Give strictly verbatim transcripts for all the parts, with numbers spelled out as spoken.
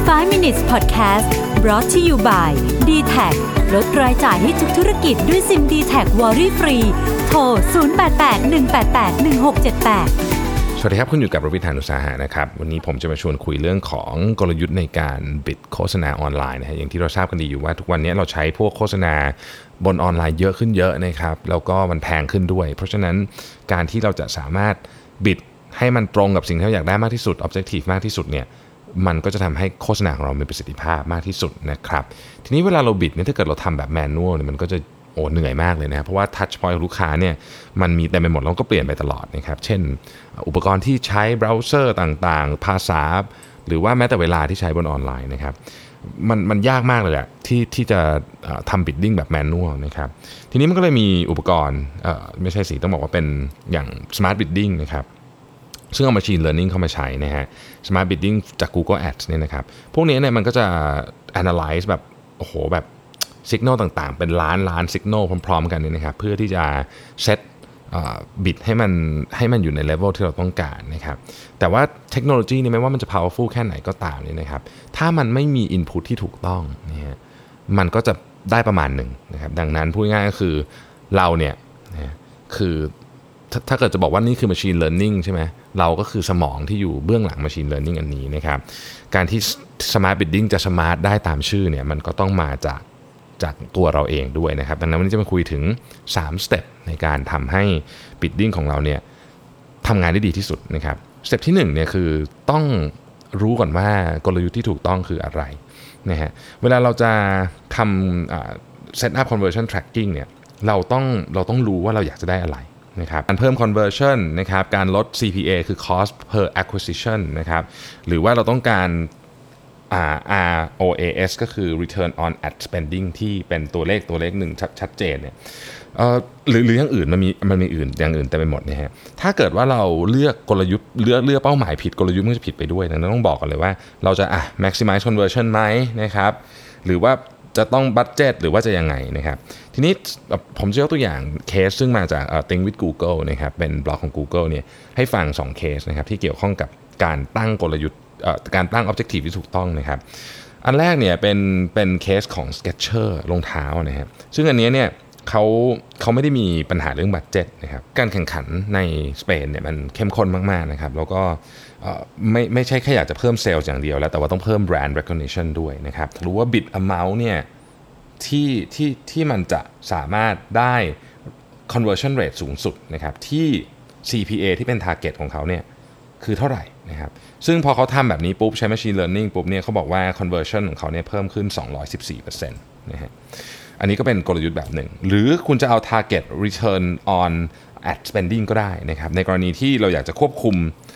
five minutes podcast brought to you by ดี แท็ก ลดรายจ่ายให้ทุกธุรกิจด้วยซิม ดี แท็ก Worry Free โทรศูนย์ แปด แปด หนึ่ง แปด แปด หนึ่ง หก เจ็ด แปดสวัสดีครับคุณอยู่กับรวิทย์ หาญอุตสาหะนะครับวันนี้ผมจะมาชวนคุยเรื่องของกลยุทธ์ในการบิดโฆษณาออนไลน์นะฮะอย่างที่เราทราบกันดีอยู่ว่าทุกวันนี้เราใช้พวกโฆษณาบนออนไลน์เยอะขึ้นเยอะนะครับแล้วก็มันแพงขึ้นด้วยเพราะฉะนั้นการที่เราจะสามารถบิดให้มันตรงกับสิ่งที่เราอยากได้มากที่สุด objective มากที่สุดเนี่ยมันก็จะทำให้โฆษณาของเรามีประสิทธิภาพมากที่สุดนะครับทีนี้เวลาเราบิดเนี่ยถ้าเกิดเราทำแบบแมนนวลเนี่ยมันก็จะโอ้เหนื่อยมากเลยนะเพราะว่า touch point ของลูกค้าเนี่ยมันมีเต็มไปหมดแล้วก็เปลี่ยนไปตลอดนะครับเช่นอุปกรณ์ที่ใช้เบราว์เซอร์ต่างๆภาษาหรือว่าแม้แต่เวลาที่ใช้บนออนไลน์นะครับมันมันยากมากเลยแหละที่ที่จะทำ bidding แบบแมนนวลนะครับทีนี้มันก็เลยมีอุปกรณ์ไม่ใช่สิต้องบอกว่าเป็นอย่าง smart bidding นะครับซึ่งเอา machine learning เข้ามาใช้นะฮะ smart bidding จาก Google Ads เนี่ยนะครับพวกนี้เนี่ยมันก็จะ analyze แบบโอ้โหแบบสัญญาณต่างๆเป็นล้านล้านสัญญาณพร้อมๆกันนี่นะครับเพื่อที่จะเซตบิดให้มันให้มันอยู่ในเลเวลที่เราต้องการนะครับแต่ว่าเทคโนโลยีนี่ไม่ว่ามันจะ powerful แค่ไหนก็ตามนี่นะครับถ้ามันไม่มี input ที่ถูกต้องนะฮะมันก็จะได้ประมาณหนึ่งนะครับดังนั้นพูดง่ายก็คือเราเนี่ยนะคือถ้าเกิดจะบอกว่านี่คือ machine learning ใช่ไหมเราก็คือสมองที่อยู่เบื้องหลัง machine learning อันนี้นะครับการที่ smart bidding จะ smart ได้ตามชื่อเนี่ยมันก็ต้องมาจากจากตัวเราเองด้วยนะครับดังนั้นวันนี้จะมาคุยถึงสามสเต็ปในการทำให้ bidding ของเราเนี่ยทำงานได้ดีที่สุดนะครับสเต็ปที่หนึ่งเนี่ยคือต้องรู้ก่อนว่ากลยุทธ์ที่ถูกต้องคืออะไรนะฮะเวลาเราจะทำ set up conversion tracking เนี่ยเราต้องเราต้องรู้ว่าเราอยากจะได้อะไรนะครับการเพิ่ม conversion นะครับการลด ซี พี เอ คือ cost per acquisition นะครับหรือว่าเราต้องการอาร์ โอ เอ เอส ก็คือ return on ad spending ที่เป็นตัวเลขตัวเลขหนึ่งชัดเจนเนี่ยหรือหรืออย่างอื่นมันมีมันมีอื่นอย่างอื่นเต็มไปหมดนะฮะถ้าเกิดว่าเราเลือกกลยุทธ์เลือกเลือกเป้าหมายผิดกลยุทธ์มันจะผิดไปด้วยดังนั้นต้องบอกกันเลยว่าเราจะอ่ะ maximize conversion ไหมนะครับหรือว่าจะต้อง budget หรือว่าจะยังไงนะครับทีนี้ผมจะยกตัวอย่างเคสซึ่งมาจาก Think with Google นะครับเป็นบล็อกของ Google เนี่ยให้ฟังสองเคสนะครับที่เกี่ยวข้องกับการตั้งกลยุทธ์การตั้ง objective ที่ถูกต้องนะครับอันแรกเนี่ยเป็นเป็นเคสของ Skechers รองเท้านะครับซึ่งอันนี้เนี่ยเขาเขาไม่ได้มีปัญหาเรื่องบัดเจ็ตนะครับการแข่งขันในสเปนเนี่ยมันเข้มข้นมากๆนะครับแล้วก็ไม่ไม่ใช่แค่อยากจะเพิ่มเซลล์อย่างเดียวแล้วแต่ว่าต้องเพิ่ม brand recognition ด้วยนะครับรู้ว่า bid amount เนี่ยที่ที่ที่มันจะสามารถได้ conversion rate สูงสุดนะครับที่ ซี พี เอ ที่เป็น target ของเขาเนี่ยคือเท่าไหร่นะครับซึ่งพอเขาทำแบบนี้ปุ๊บใช้ machine learning ปุ๊บเนี่ยเขาบอกว่า conversion ของเขาเนี่ยเพิ่มขึ้น สองร้อยสิบสี่เปอร์เซ็นต์ นะฮะอันนี้ก็เป็นกลยุทธ์แบบหนึ่งหรือคุณจะเอา target return on ad spending ก็ได้นะครับในกรณีที่เราอยากจะควบคุม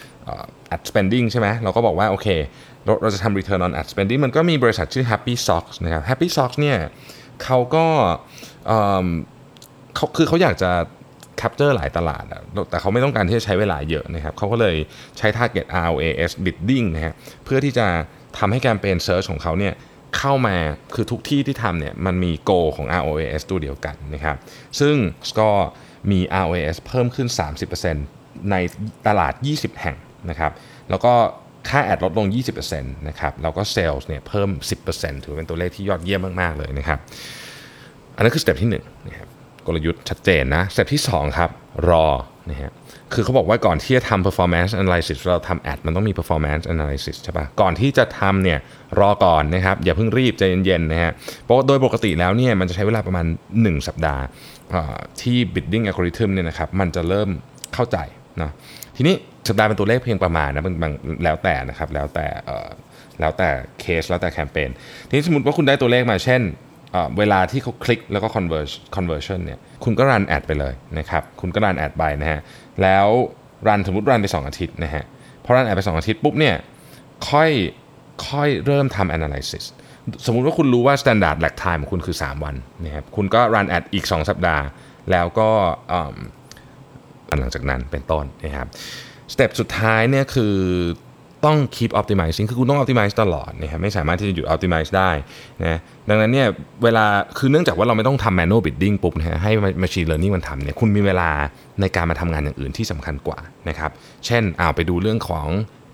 ad spending ใช่ไหมเราก็บอกว่าโอเคเราเราจะทำ return on ad spending มันก็มีบริษัทชื่อ Happy Socks นะครับ Happy Socks เนี่ยเขาก็เขาคือเขาอยากจะcapture หลายตลาดแต่เขาไม่ต้องการที่จะใช้เวลาเยอะนะครับเขาก็เลยใช้ target อาร์ โอ เอ เอส bidding นะฮะเพื่อที่จะทำให้แคมเปญ search ของเขาเนี่ยเข้ามาคือทุกที่ที่ทำเนี่ยมันมี goal ของ อาร์ โอ เอ เอส ตัวเดียวกันนะครับซึ่งก็มี อาร์ โอ เอ เอส เพิ่มขึ้น สามสิบเปอร์เซ็นต์ ในตลาดยี่สิบแห่งนะครับแล้วก็ค่าแอดลดลง ยี่สิบเปอร์เซ็นต์ นะครับแล้วก็ sales เนี่ยเพิ่ม สิบเปอร์เซ็นต์ ถือเป็นตัวเลขที่ยอดเยี่ยมมากๆเลยนะครับอันนั้นคือสเต็ปที่หนึ่งนะครับกลยุทธ์ชัดเจนนะสเต็ปที่สองครับรอนะฮะคือเขาบอกว่าก่อนที่จะทำ performance analysis เราทำแอดมันต้องมี performance analysis ใช่ป่ะก่อนที่จะทำเนี่ยรอก่อนนะครับอย่าเพิ่งรีบใจเย็นๆนะฮะเพราะโดยปกติแล้วเนี่ยมันจะใช้เวลาประมาณหนึ่งสัปดาห์ที่ bidding algorithm เนี่ยนะครับมันจะเริ่มเข้าใจนะทีนี้สัปดาห์เป็นตัวเลขเพียงประมาณนะบางแล้วแต่นะครับแล้วแต่แล้วแต่เคสแล้วแต่แคมเปญทีนี้สมมติว่าคุณได้ตัวเลขมาเช่นเวลาที่เขาคลิกแล้วก็ convert conversion เนี่ยคุณก็รันแอดไปเลยนะครับคุณก็รันแอดไปนะฮะแล้วรันสมมุติรันไปสองอาทิตย์นะฮะพอรันแอดไปสองอาทิตย์ปุ๊บเนี่ยค่อยค่อยเริ่มทำ analysis สมมุติว่าคุณรู้ว่า standard lag time ของคุณคือสามวันนะครับคุณก็รันแอดอีกสองสัปดาห์แล้วก็หลังจากนั้นเป็นต้นนะครับสเต็ปสุดท้ายเนี่ยคือต้อง keep optimizing คือคุณต้อง optimize ตลอดนะครับไม่สามารถที่จะหยุด optimize ได้นะดังนั้นเนี่ยเวลาคือเนื่องจากว่าเราไม่ต้องทำ manual bidding ปุ๊บนะฮะให้ machine learning มันทำเนี่ยคุณมีเวลาในการมาทำงานอย่างอื่นที่สำคัญกว่านะครับเช่นเอาไปดูเรื่องของ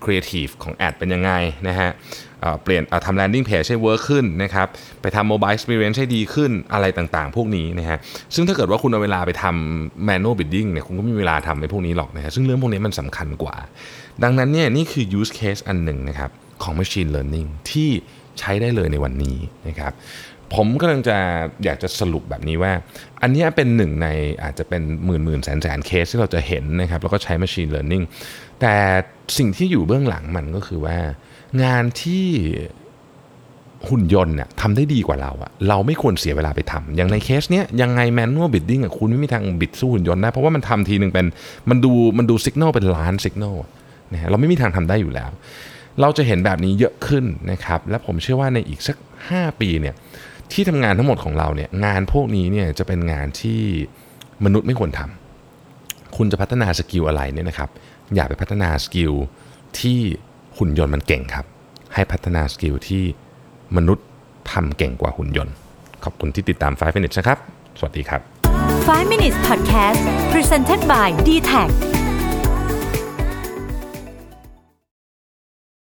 ครีเอทีฟของแอดเป็นยังไงนะฮะเปลี่ยนทำ landing page ให้ work ขึ้นนะครับไปทำ mobile experience ให้ดีขึ้นอะไรต่างๆพวกนี้นะฮะซึ่งถ้าเกิดว่าคุณเอาเวลาไปทำ manual bidding เนี่ยคุณก็ไม่มีเวลาทำในพวกนี้หรอกนะฮะซึ่งเรื่องพวกนี้มันสำคัญกว่าดังนั้นเนี่ยนี่คือ use case อันหนึ่งนะครับของ machine learning ที่ใช้ได้เลยในวันนี้นะครับผมกำลังจะอยากจะสรุปแบบนี้ว่าอันนี้เป็นหนึ่งในอาจจะเป็นหมื่นหมื่นแสนแสนเคสที่เราจะเห็นนะครับแล้วก็ใช้ machine learning แต่สิ่งที่อยู่เบื้องหลังมันก็คือว่างานที่หุ่นยนต์เนี่ยทำได้ดีกว่าเราอะเราไม่ควรเสียเวลาไปทำอย่างในเคสเนี้ยยังไง manual bidding อะคุณไม่มีทางบิดสู้หุ่นยนต์ได้เพราะว่ามันทำทีนึงเป็นมันดูมันดู signal เป็นล้าน signal นะฮะเราไม่มีทางทำได้อยู่แล้วเราจะเห็นแบบนี้เยอะขึ้นนะครับและผมเชื่อว่าในอีกสักห้าปีเนี่ยที่ทำงานทั้งหมดของเราเนี่ยงานพวกนี้เนี่ยจะเป็นงานที่มนุษย์ไม่ควรทำคุณจะพัฒนาสกิลอะไรเนี่ยนะครับอย่าไปพัฒนาสกิลที่หุ่นยนต์มันเก่งครับให้พัฒนาสกิลที่มนุษย์ทำเก่งกว่าหุ่นยนต์ขอบคุณที่ติดตามไฟว์ minutes นะครับสวัสดีครับไฟว์ minutes podcast presented by ดี แท็ก